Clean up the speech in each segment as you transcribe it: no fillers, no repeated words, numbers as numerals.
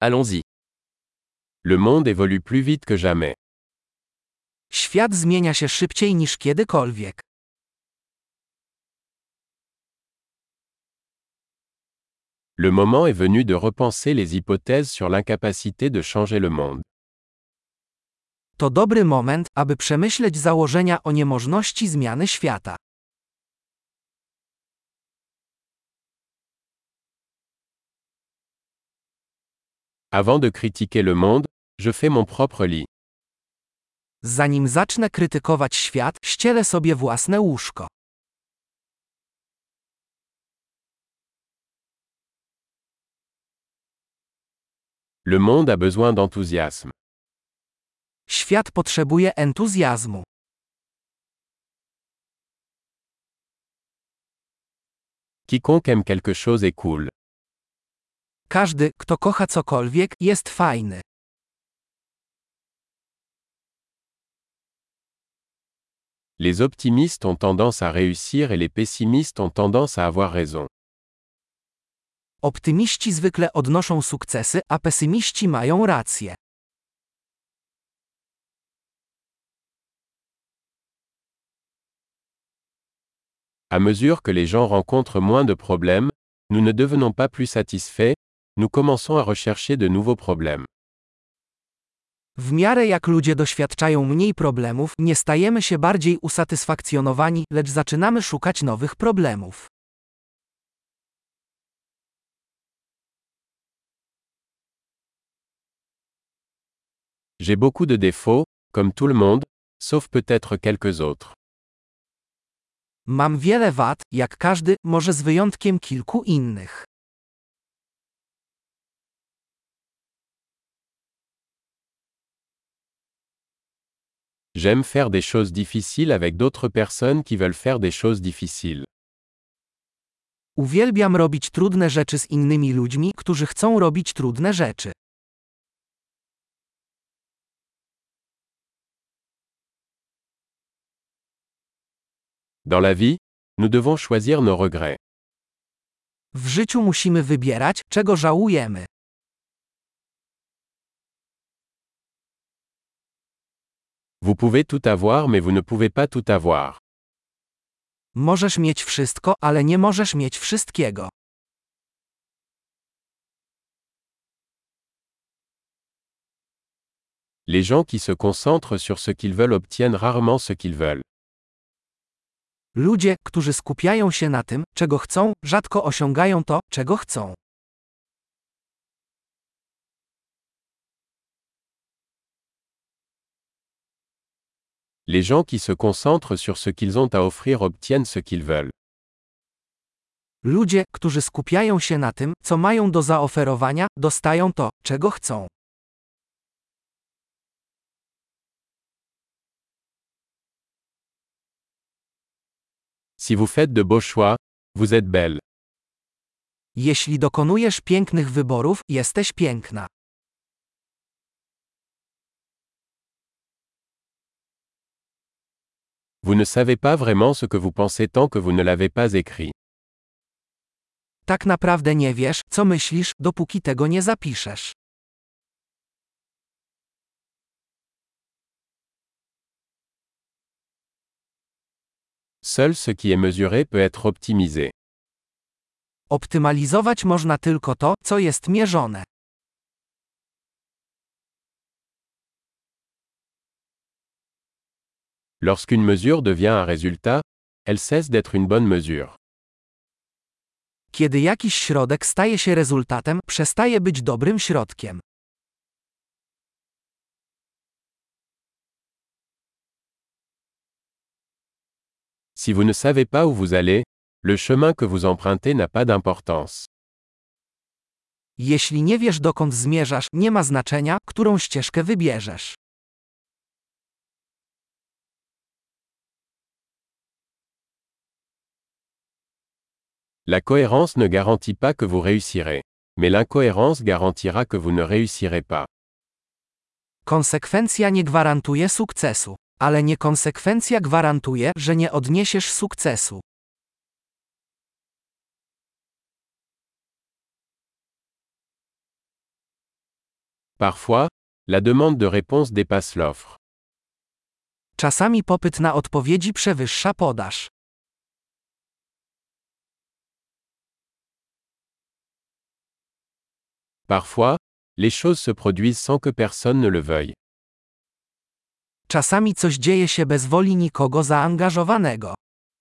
Allons-y. Le monde évolue plus vite que jamais. Świat zmienia się szybciej niż kiedykolwiek. Le moment est venu de repenser les hypothèses sur l'incapacité de changer le monde. To dobry moment, aby przemyśleć założenia o niemożności zmiany świata. Avant de critiquer le monde, je fais mon propre lit. Zanim zacznę krytykować świat, ścielę sobie własne łóżko. Le monde a besoin d'enthousiasme. Świat potrzebuje entuzjazmu. Quiconque aime quelque chose est cool. Każdy, kto kocha cokolwiek, jest fajny. Les optimistes ont tendance à réussir et les pessimistes ont tendance à avoir raison. Optymiści zwykle odnoszą sukcesy, a pesymiści mają rację. À mesure que les gens rencontrent moins de problèmes, nous ne devenons pas plus satisfaits, nous commençons à rechercher de nouveaux problèmes. W miarę jak ludzie doświadczają mniej problemów, nie stajemy się bardziej usatysfakcjonowani, lecz zaczynamy szukać nowych problemów. J'ai beaucoup de défauts, comme tout le monde, sauf peut-être quelques autres. Mam wiele wad, jak każdy, może z wyjątkiem kilku innych. J'aime faire des choses difficiles avec d'autres personnes qui veulent faire des choses difficiles. Uwielbiam robić trudne rzeczy z innymi ludźmi, którzy chcą robić trudne rzeczy. Dans la vie, nous devons choisir nos regrets. W życiu musimy wybierać, czego żałujemy. Vous pouvez tout avoir mais vous ne pouvez pas tout avoir. Możesz mieć wszystko, ale nie możesz mieć wszystkiego. Les gens qui se concentrent sur ce qu'ils veulent obtiennent rarement ce qu'ils veulent. Ludzie, którzy skupiają się na tym, czego chcą, rzadko osiągają to, czego chcą. Les gens qui se concentrent sur ce qu'ils ont à offrir obtiennent ce qu'ils veulent. Ludzie, którzy skupiają się na tym, co mają do zaoferowania, dostają to, czego chcą. Si vous faites de beaux choix, vous êtes belle. Jeśli dokonujesz pięknych wyborów, jesteś piękna. Vous ne savez pas vraiment ce que vous pensez tant que vous ne l'avez pas écrit. Tak naprawdę nie wiesz, co myślisz, dopóki tego nie zapiszesz. Seul ce qui est mesuré peut être optimisé. Optymalizować można tylko to, co jest mierzone. Lorsqu'une mesure devient un résultat, elle cesse d'être une bonne mesure. Kiedy jakiś środek staje się rezultatem, przestaje być dobrym środkiem. Si vous ne savez pas où vous allez, le chemin que vous empruntez n'a pas d'importance. Jeśli nie wiesz, dokąd zmierzasz, nie ma znaczenia, którą ścieżkę wybierzesz. La cohérence ne garantit pas que vous réussirez, mais l'incohérence garantira que vous ne réussirez pas. Konsekwencja nie gwarantuje sukcesu, ale niekonsekwencja gwarantuje, że nie odniesiesz sukcesu. Parfois, la demande de réponse dépasse l'offre. Czasami popyt na odpowiedzi przewyższa podaż. Parfois, les choses se produisent sans que personne ne le veuille. Czasami coś dzieje się bez woli nikogo zaangażowanego.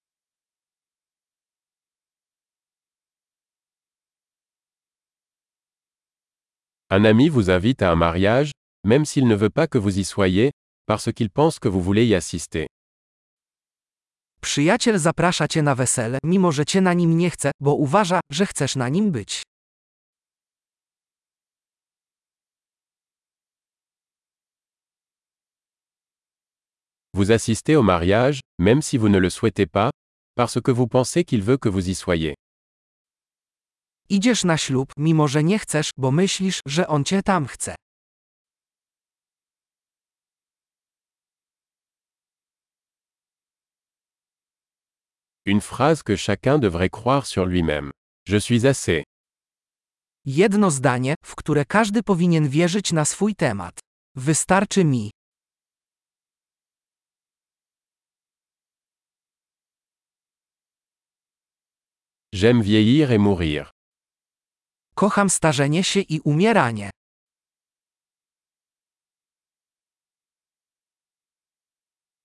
Un ami vous invite à un mariage, même s'il ne veut pas que vous y soyez, parce qu'il pense que vous voulez y assister. Przyjaciel zaprasza cię na wesele, mimo że cię na nim nie chce, bo uważa, że chcesz na nim być. Vous assistez au mariage, même si vous ne le souhaitez pas, parce que vous pensez qu'il veut que vous y soyez. Idziesz na ślub, mimo że nie chcesz, bo myślisz, że on cię tam chce. Une phrase que chacun devrait croire sur lui-même. Je suis assez. Jedno zdanie, w które każdy powinien wierzyć na swój temat. Wystarczy mi. J'aime vieillir et mourir. Kocham starzenie się i umieranie.